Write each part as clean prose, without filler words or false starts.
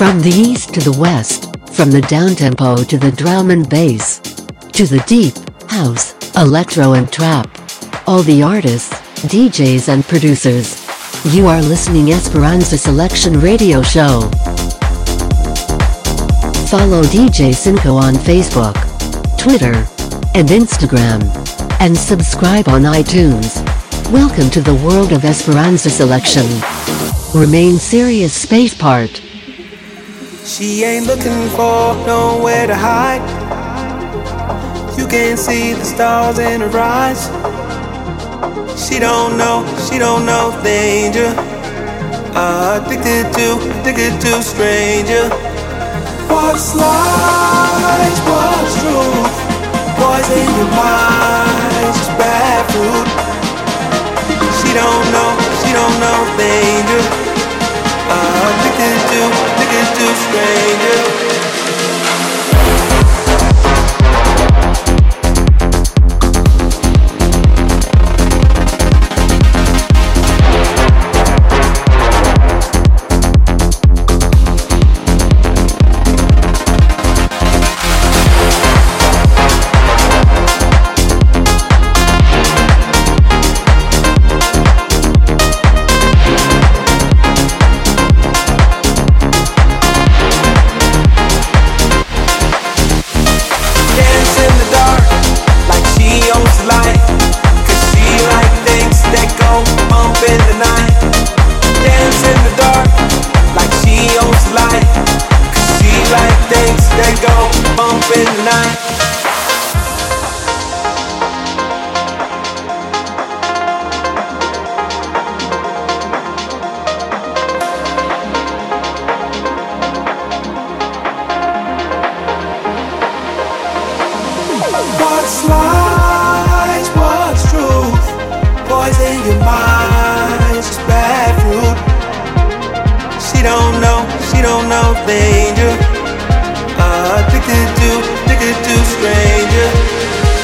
From the east to the west, from the downtempo to the drum and bass, to the deep, house, electro and trap. All the artists, DJs and producers. You are listening Esperanza Selection Radio Show. Follow DJ Cinco on Facebook, Twitter, and Instagram. And subscribe on iTunes. Welcome to the world of Esperanza Selection. Remain serious space part. She ain't looking for nowhere to hide. You can see the stars in her eyes. She don't know danger. Addicted to stranger. What's lies, what's truth? Poison your mind, just bad fruit. She don't know danger. Addicted to stranger. What's lies, what's truth? Poison your mind, just bad fruit. She don't know danger. Addicted to stranger.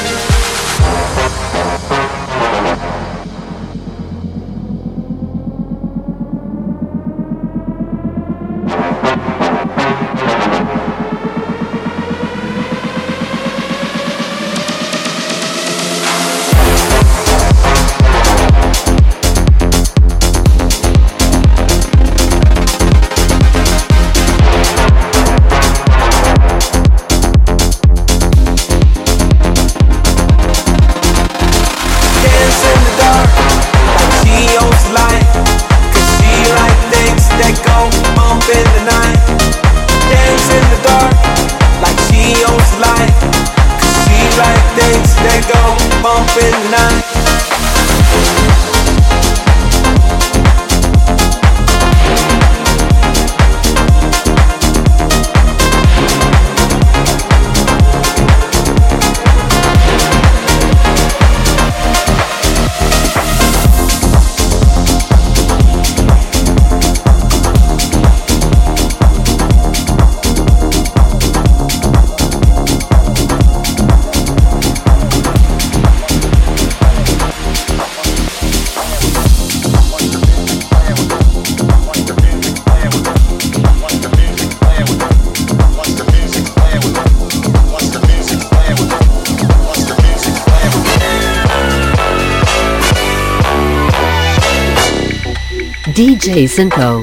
DJ Cinco.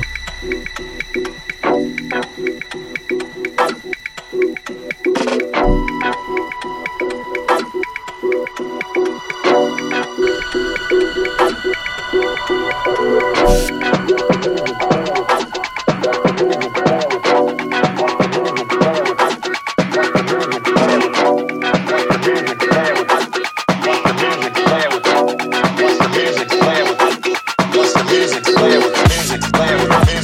Play with the music, play with the music, play with the music.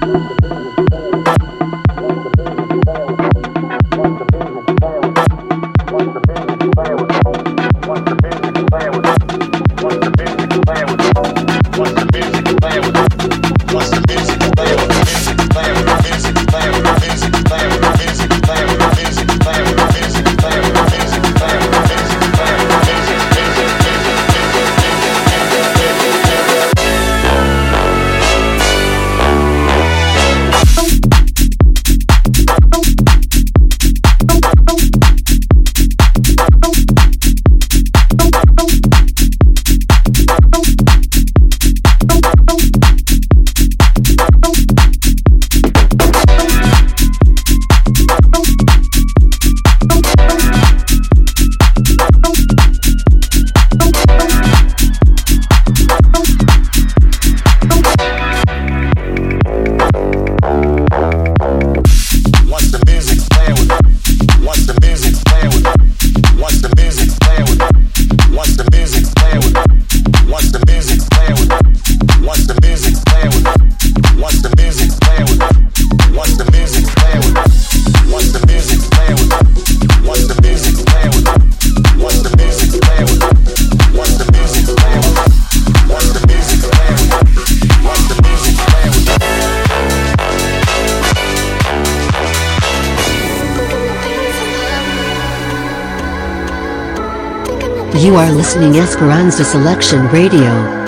You are listening Esperanza Selection Radio.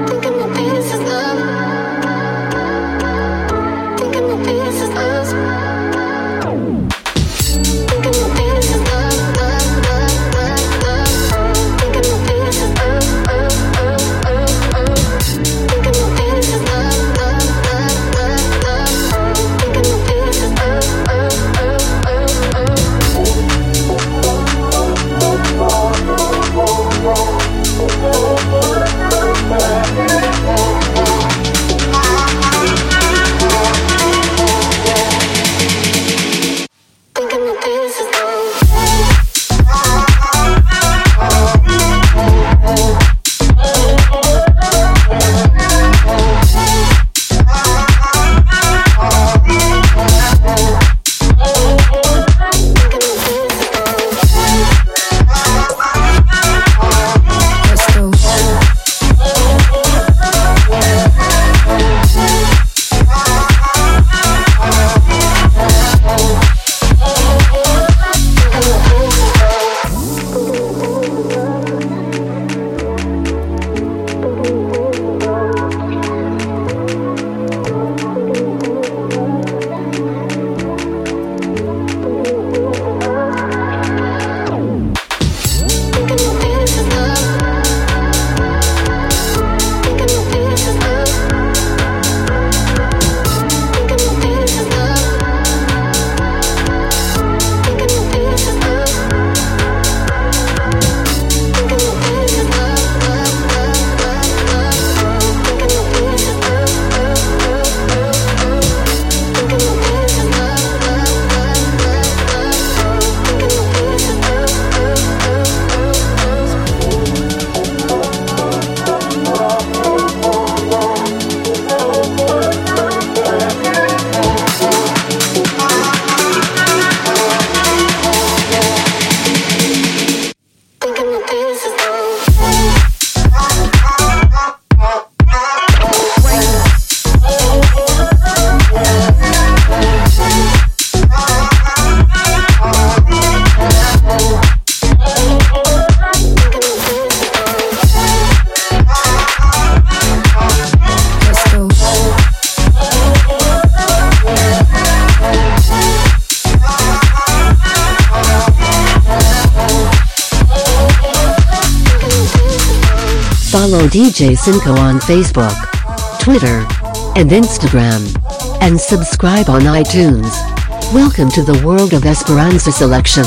Follow DJ Cinco on Facebook, Twitter, and Instagram. And subscribe on iTunes. Welcome to the world of Esperanza Selection.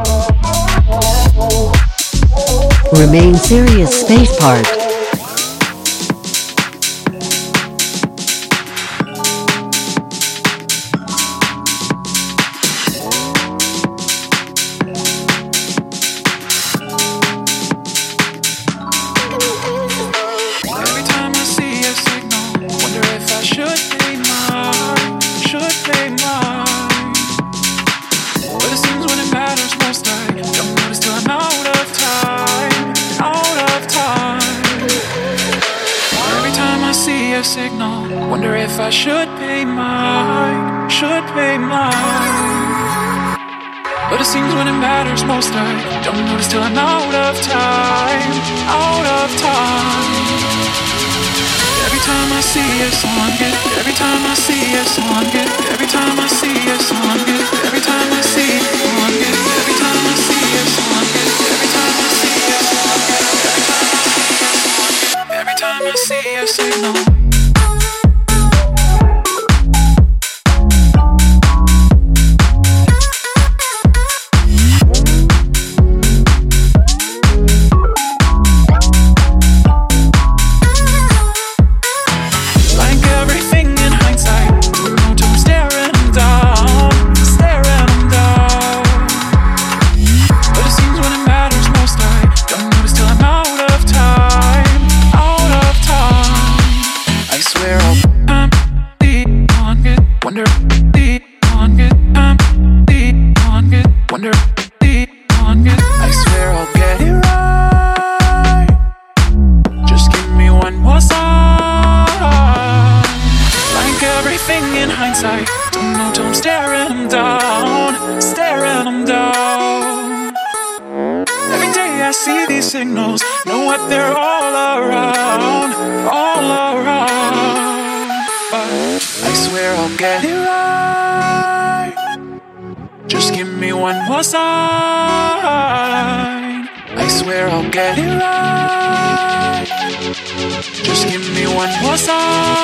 Remain serious space part. Every time I see a signal, wonder if I should ignore. signal. Wonder if I should pay mine, should pay mine. But it seems when it matters most I don't notice till I'm out of time, out of time. Every time I see a song, every time I see a song, every time I see a song, every time I see a song, every time I see a song, every time I see a song, every time I see a signal. Signals, know what they're all around, but I swear I'll get it right. Just give me one more sign. I swear I'll get it right. Just give me one more sign.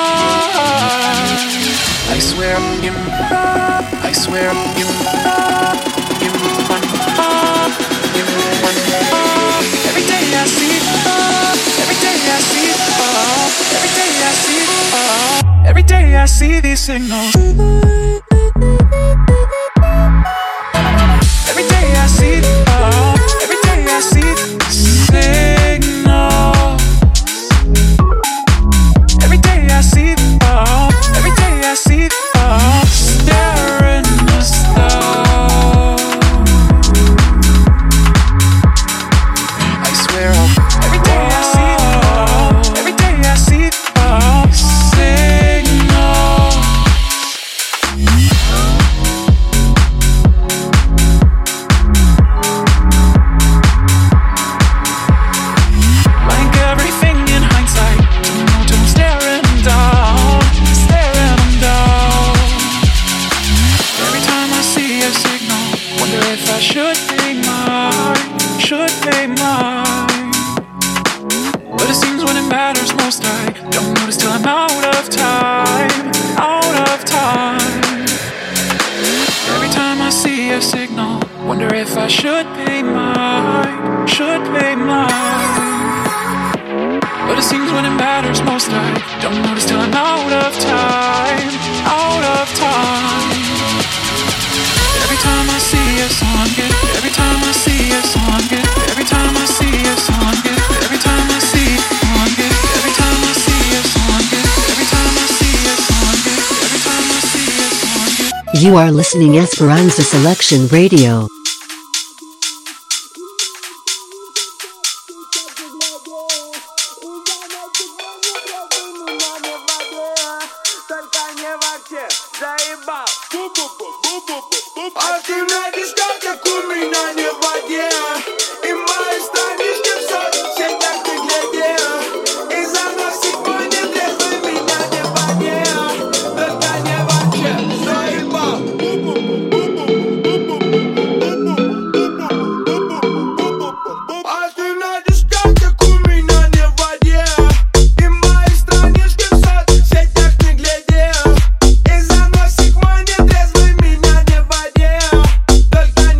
I swear, give me, I swear, give me one more, give me one more. Every day I see, every day I see, every day I see, every day I see these signals. Every day I see, every day I see signals. Every day I see, every day I see, staring the stars. I swear every day I see, every day I see signals. Like everything in hindsight, don't know till I'm staring down, staring them down. Every time I see a signal, wonder if I should pay mine, should pay mine. But it seems when it matters most I don't notice till I'm out of time, out of time. Every time I see a signal, wonder if I should pay mine, should pay mine. But it seems when it matters most I don't notice till I'm out of time, out of time. Every time I see a song, every time I see a song, every time I see a song, every time I see a song, every time I see a song, every time I see a song, every time I see a song. You are listening Esperanza Selection Radio. Активная дискотека у меня не в воде. И мои странички в соцсетях ты глядел. И заносит мой нетрезвый меня не в воде. Только не вообще, заебал. Активная дискотека у меня не в воде. И мои странички в соцсетях ты глядел. И заносит мой нетрезвый меня не в воде. Только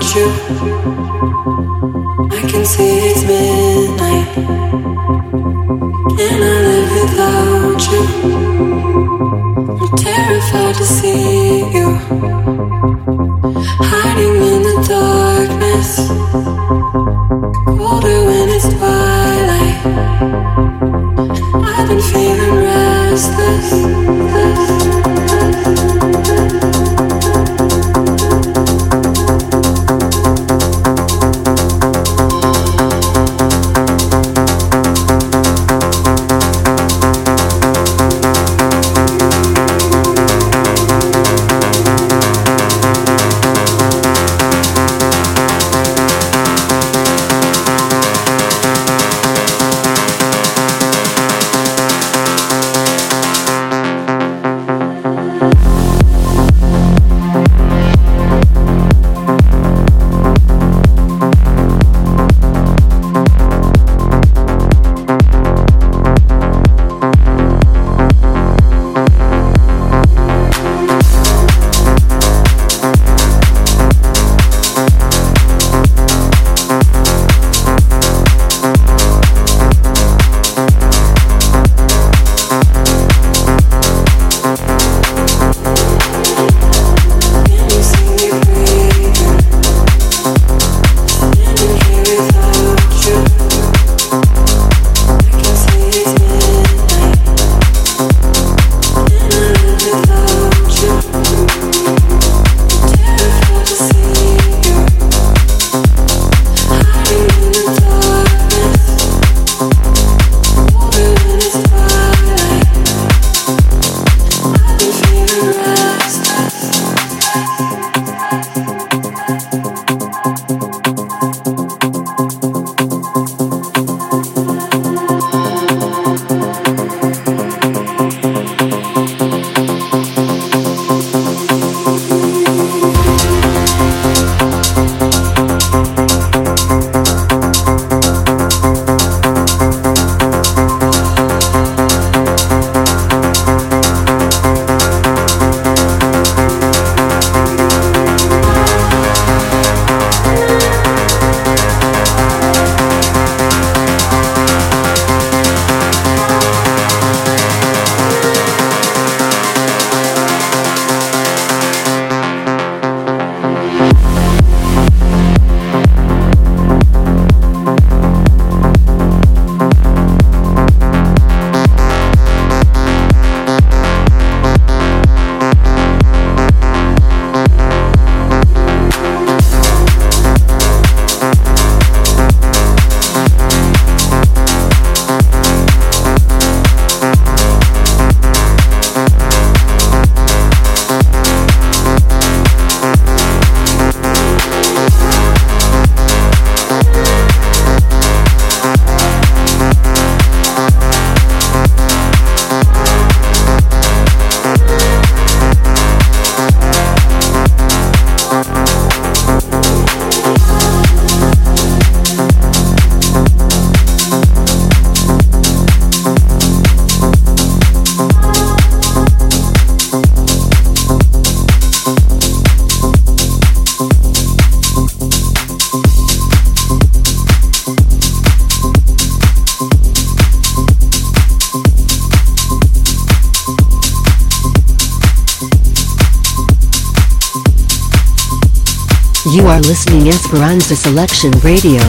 You are listening Esperanza Selection Radio.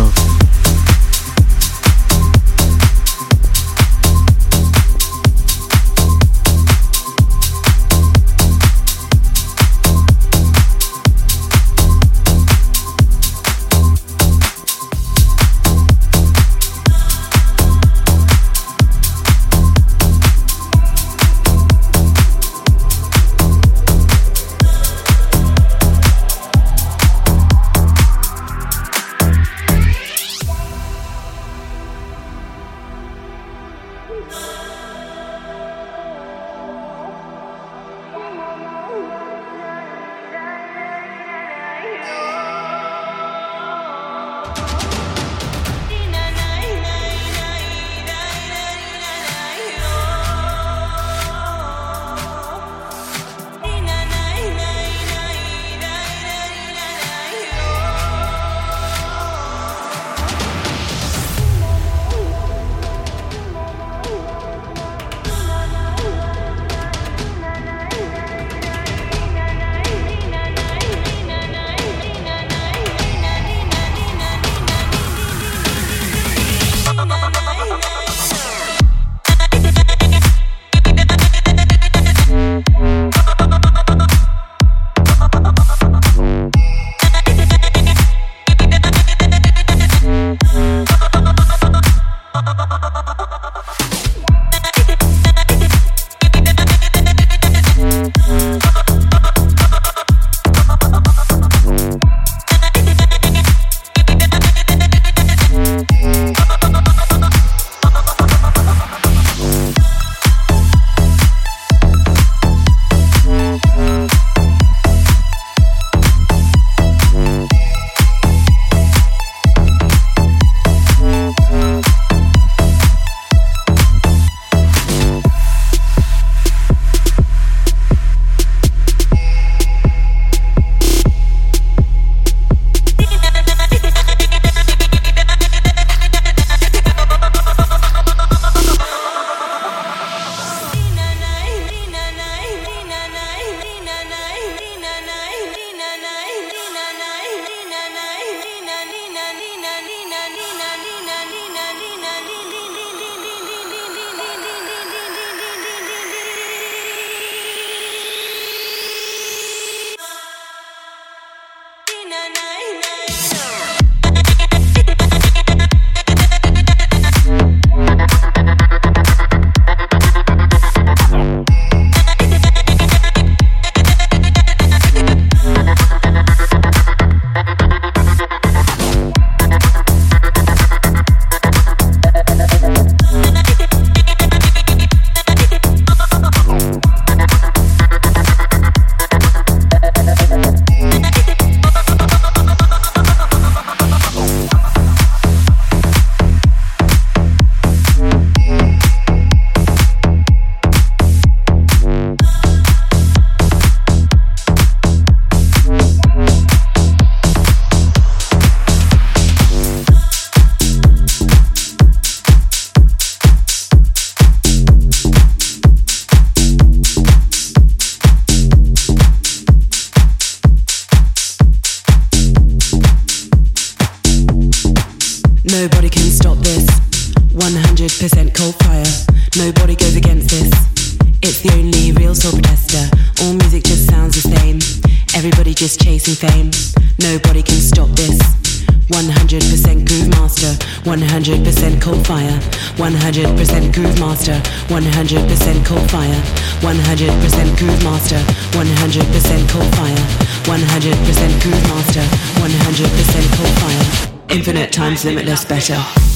Nobody can stop this. 100% cold fire. Nobody goes against this. It's the only real soul protester. All music just sounds the same. Everybody just chasing fame. Nobody can stop this. 100% groove master. 100% cold fire. 100% groove master. 100% cold fire. 100% groove master. 100% cold fire. 100% groove master. 100% cold fire. Infinite times limitless better.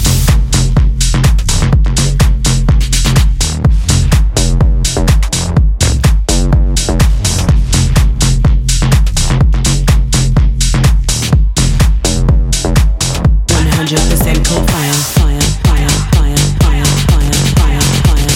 Cold fire, fire, fire, fire, fire, fire, fire, fire.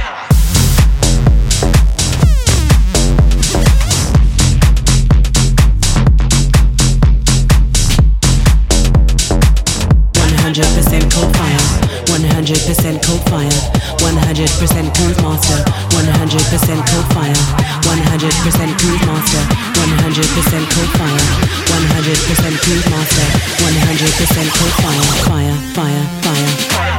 100% cold fire, 100% cold fire, 100% groove master, 100% cold fire, 100% groove master, 100% cold fire, 100% groove master, 100% cold fire, fire, fire, fire.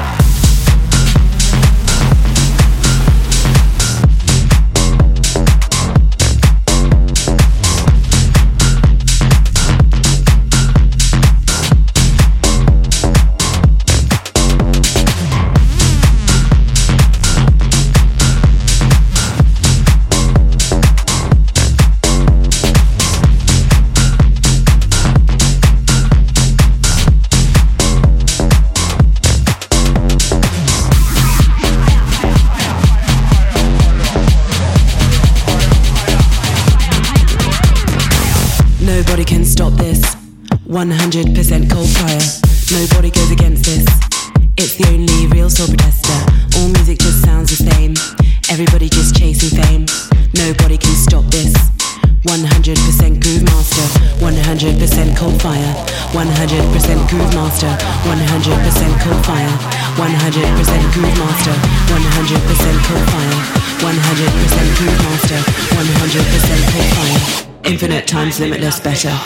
100% cold fire. Nobody goes against this. It's the only real soul protester. All music just sounds the same. Everybody just chasing fame. Nobody can stop this. 100% groove master. 100% cold fire. 100% groove master. 100% cold fire. 100% groove master. 100% cold fire. 100% groove master. 100% cold fire. Infinite times limitless better.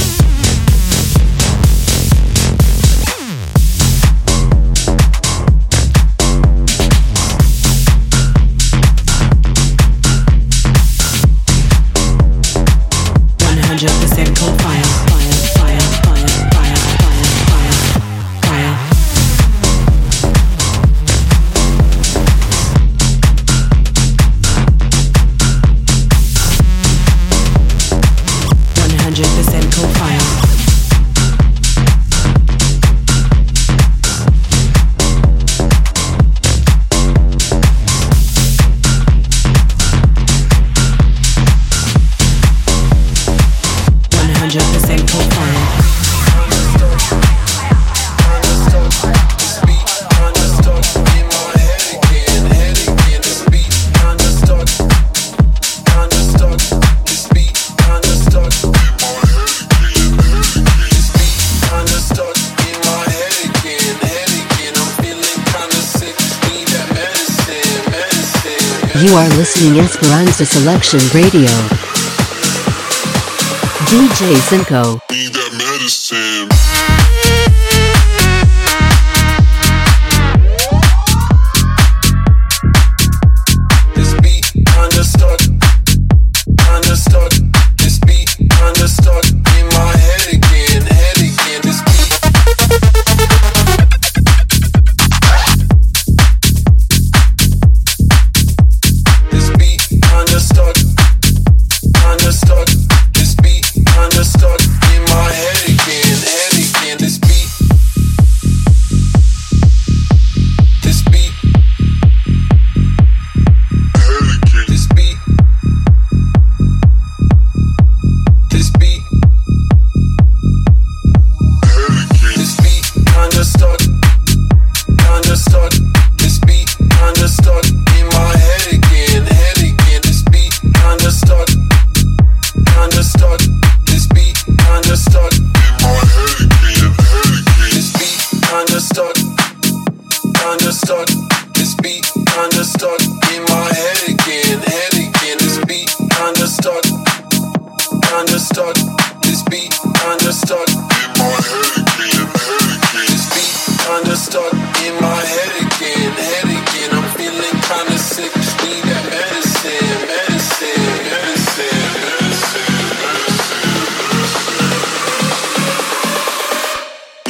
100% cold fire, fire, fire, fire, fire, fire, fire, fire. 100% cold fire. 100% cold fire. You are listening Esperanza Selection Radio. DJ Cinco. Need that medicine. This beat understood. This beat understood. In my head again. This beat. This beat understood. This beat understood. In my head again. This beat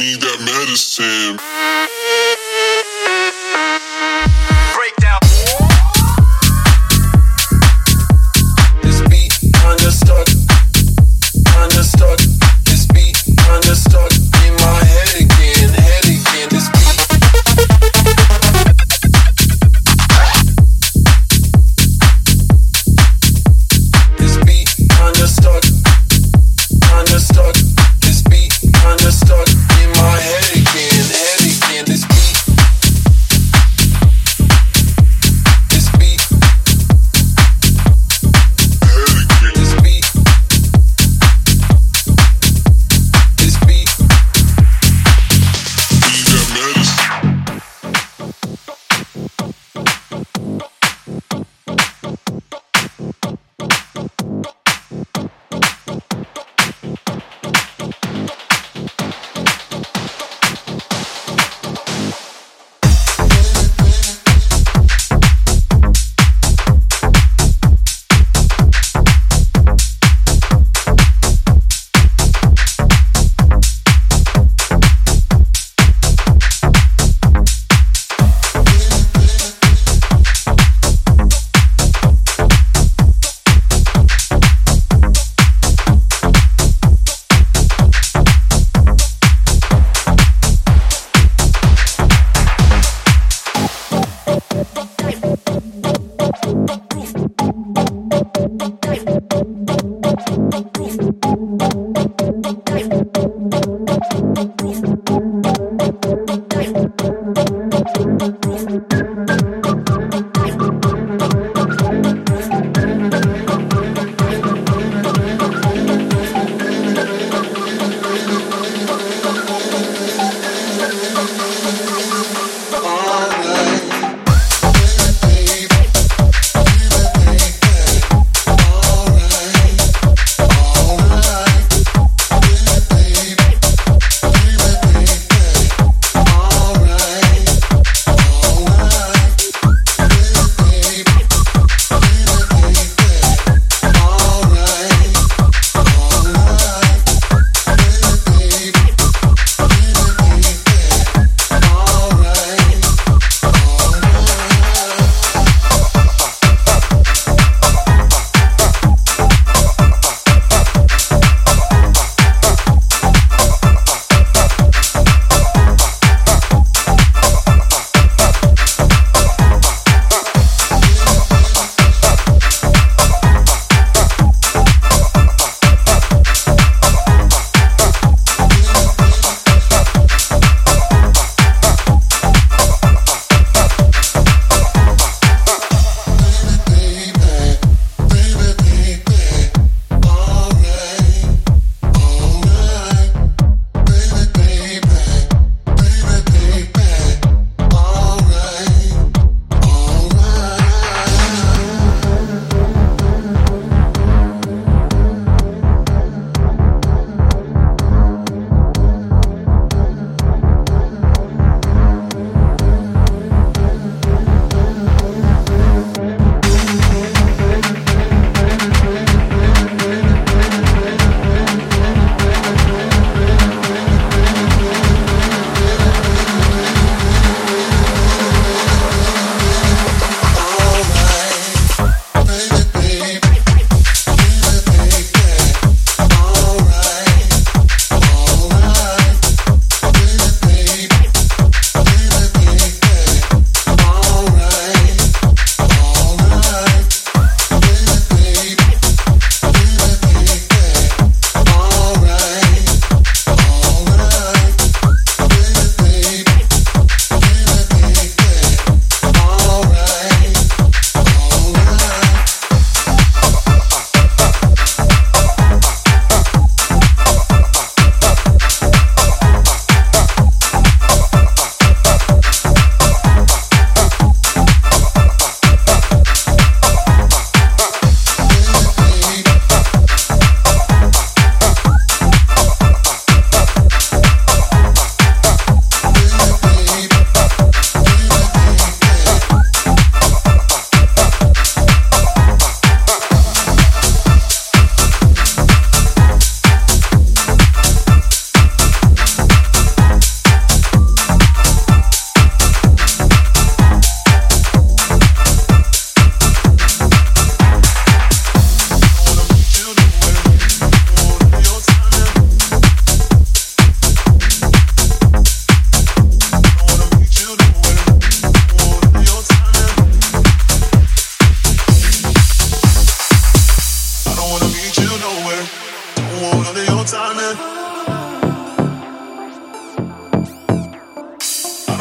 need that medicine. Breakdown. This beat kinda stuck. This beat kinda stuck in my head again. This beat. This beat kinda stuck. This beat kinda stuck in my head again. This beat. This beat. This beat. This beat. Need that medicine.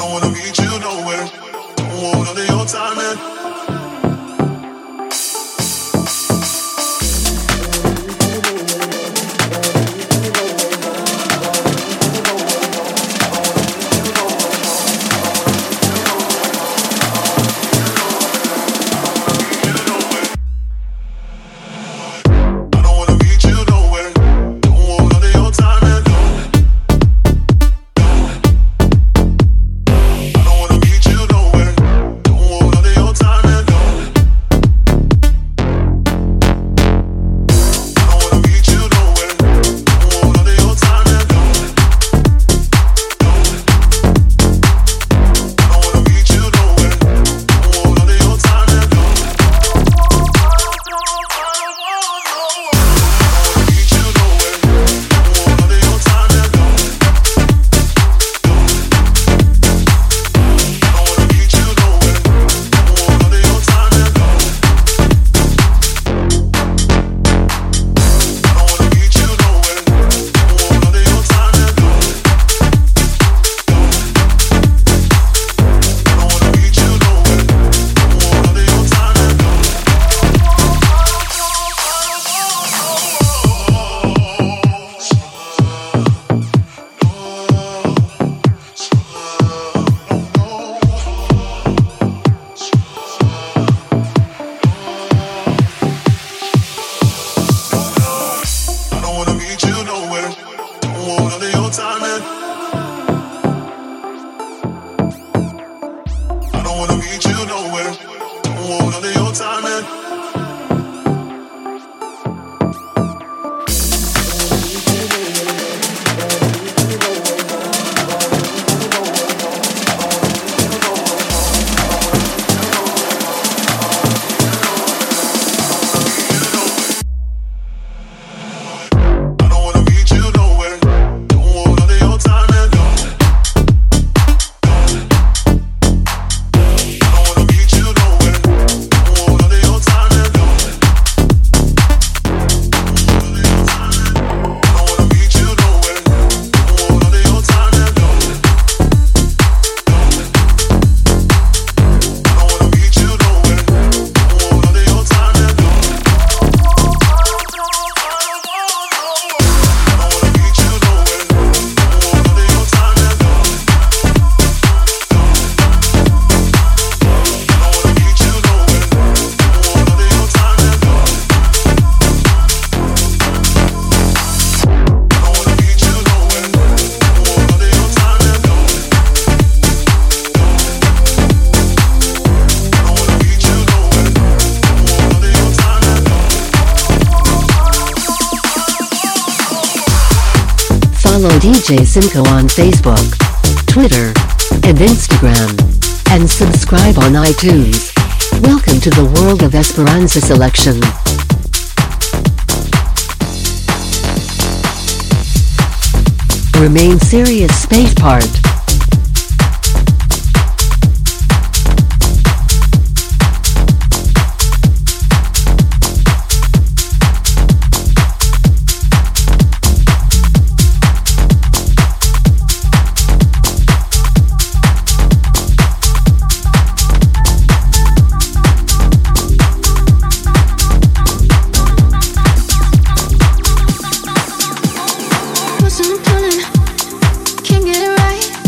don't wanna meet you nowhere. Don't want none of your time, man. Follow DJ Cinco on Facebook, Twitter, and Instagram. And subscribe on iTunes. Welcome to the world of Esperanza selection. Remain serious space part. Can't get it right.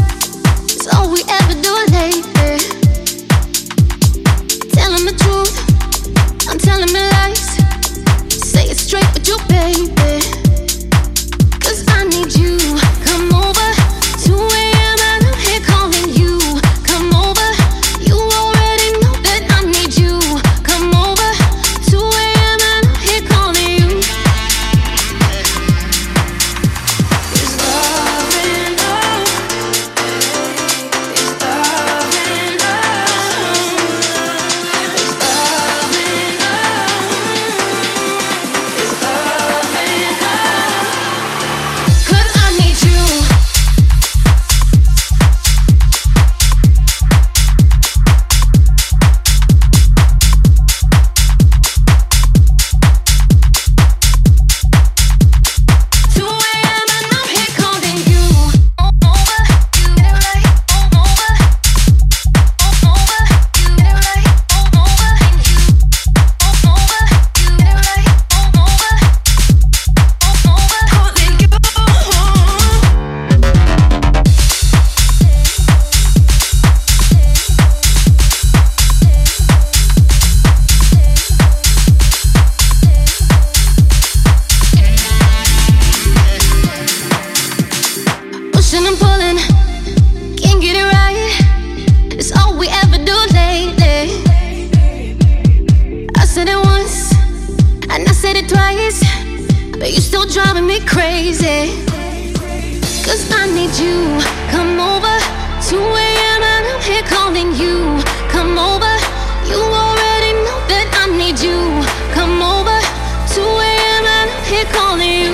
driving me crazy. Cause I need you. Come over, 2 a.m. and I'm here calling you. Come over, you already know that I need you. Come over, 2 a.m. and I'm here calling you.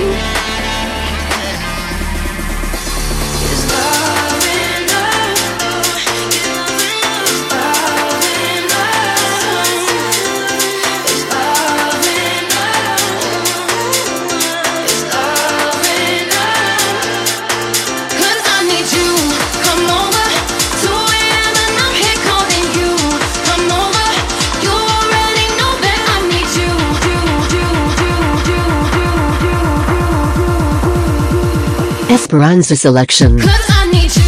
Is love enough? Is love enough? Is love enough? Is love enough? 'Cause I need you. Come over, 2 a.m. and I'm here calling you. Come over, you already know that I need you. Esperanza Selection. 'Cause I need you.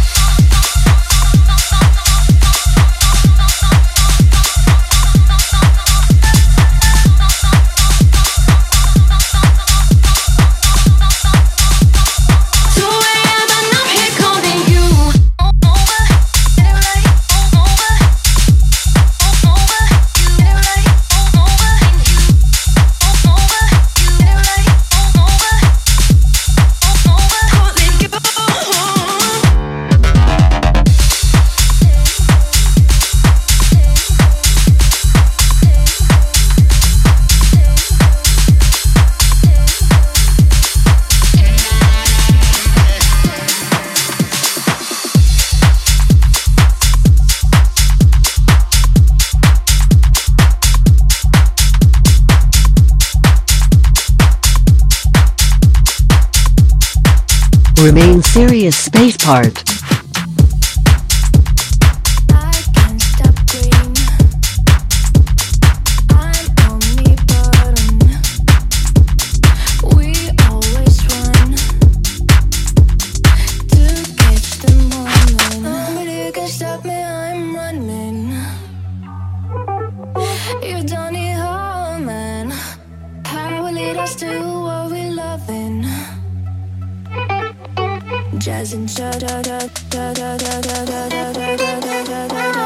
Remain Serious Space Part. I can't stop green. I'm only bottom. We always run to catch the moment. Nobody can stop me, I'm running. You don't need home, man. Power will lead us to what we loving. Jazz and da da da da da da da da da da da da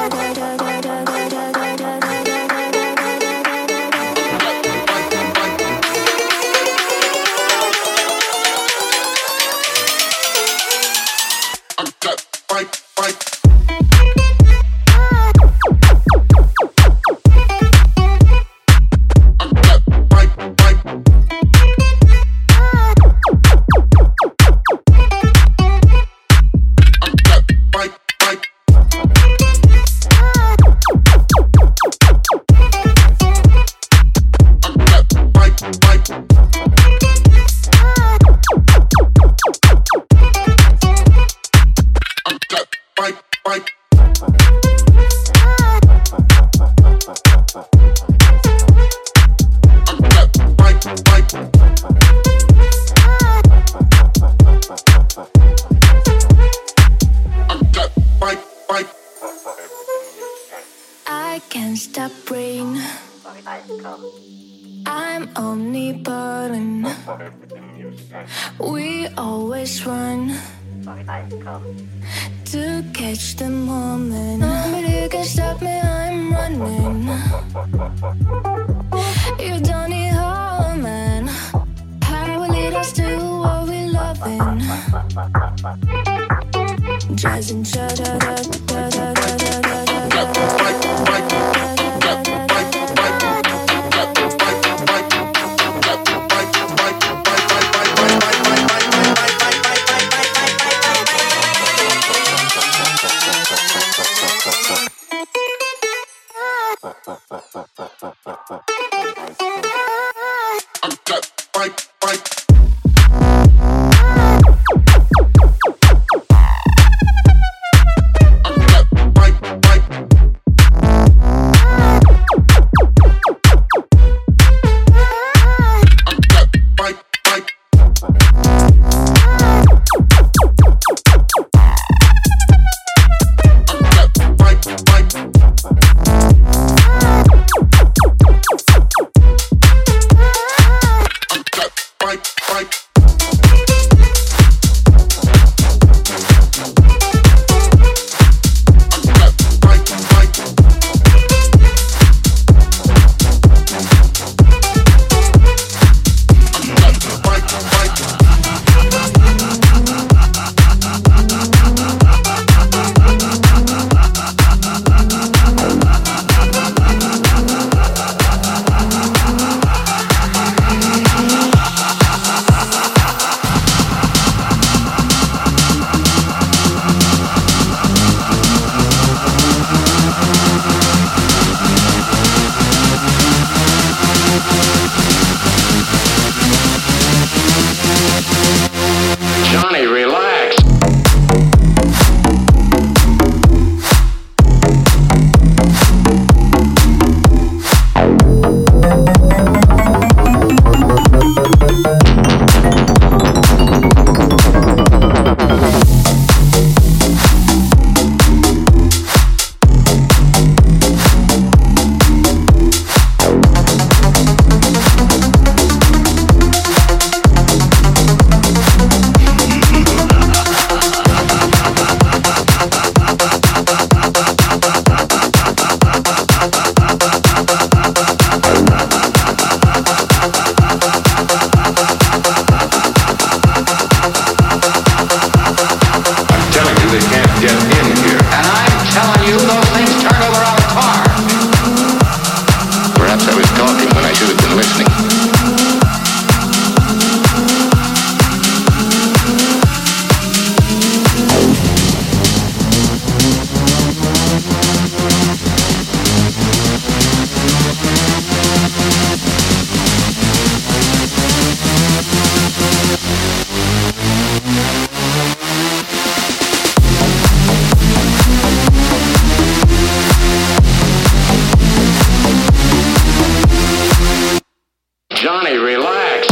I can't stop brain. I'm omnipotent. We always run to catch the moment. Nobody can stop me, I'm running. You don't need home, man. Power will lead us to what we loving. Jazz and da da da da da da da da da. I'm get in here. And I'm telling you, those things turn over our car. Perhaps I was talking when I should have been listening. Johnny, relax.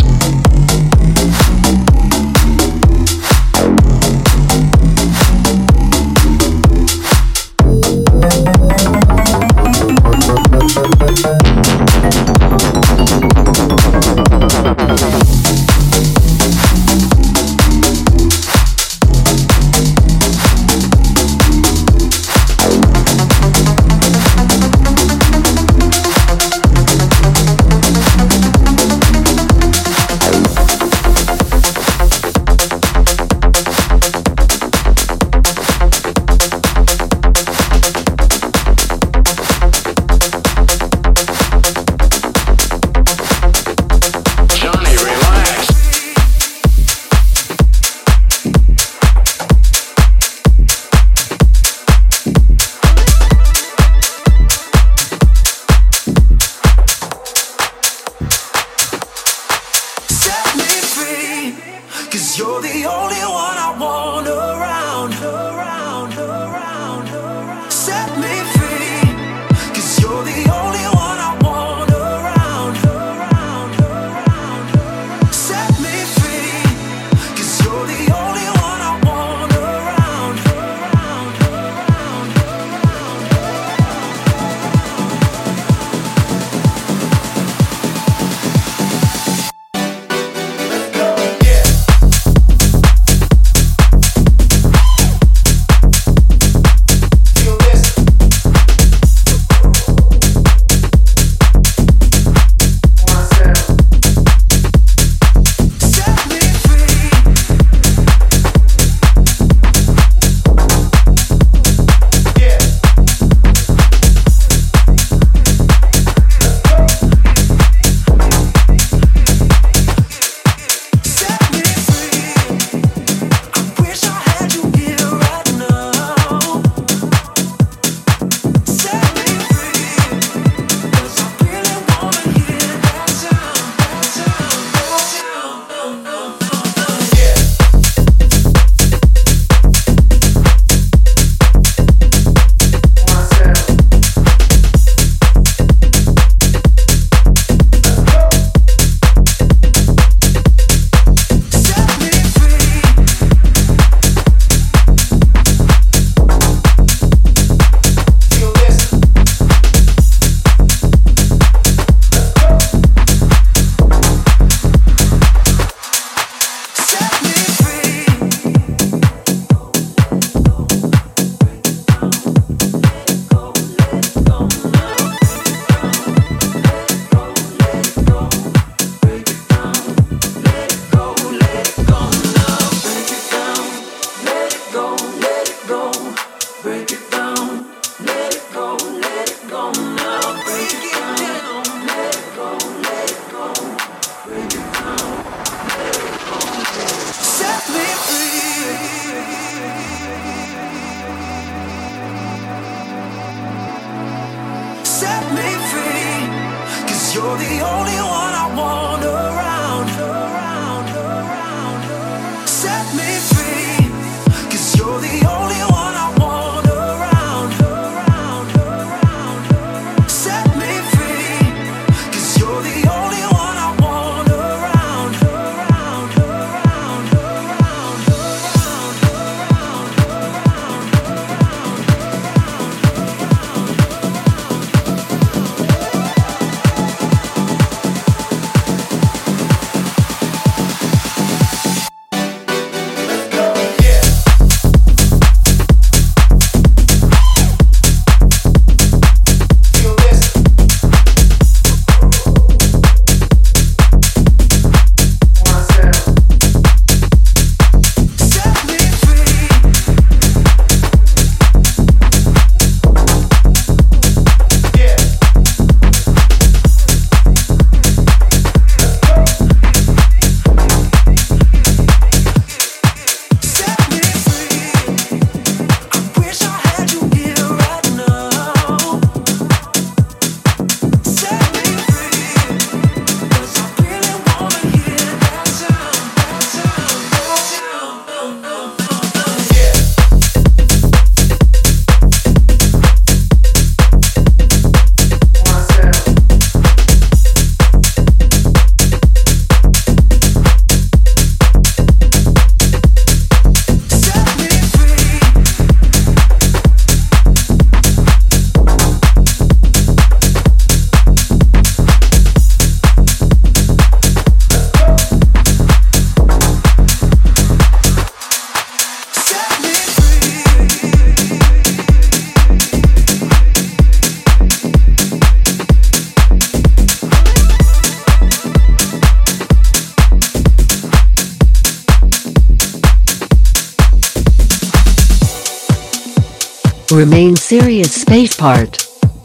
Remain serious space part.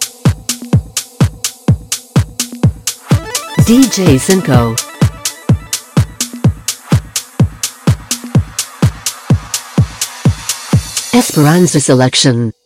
DJ Cinco. Esperanza selection.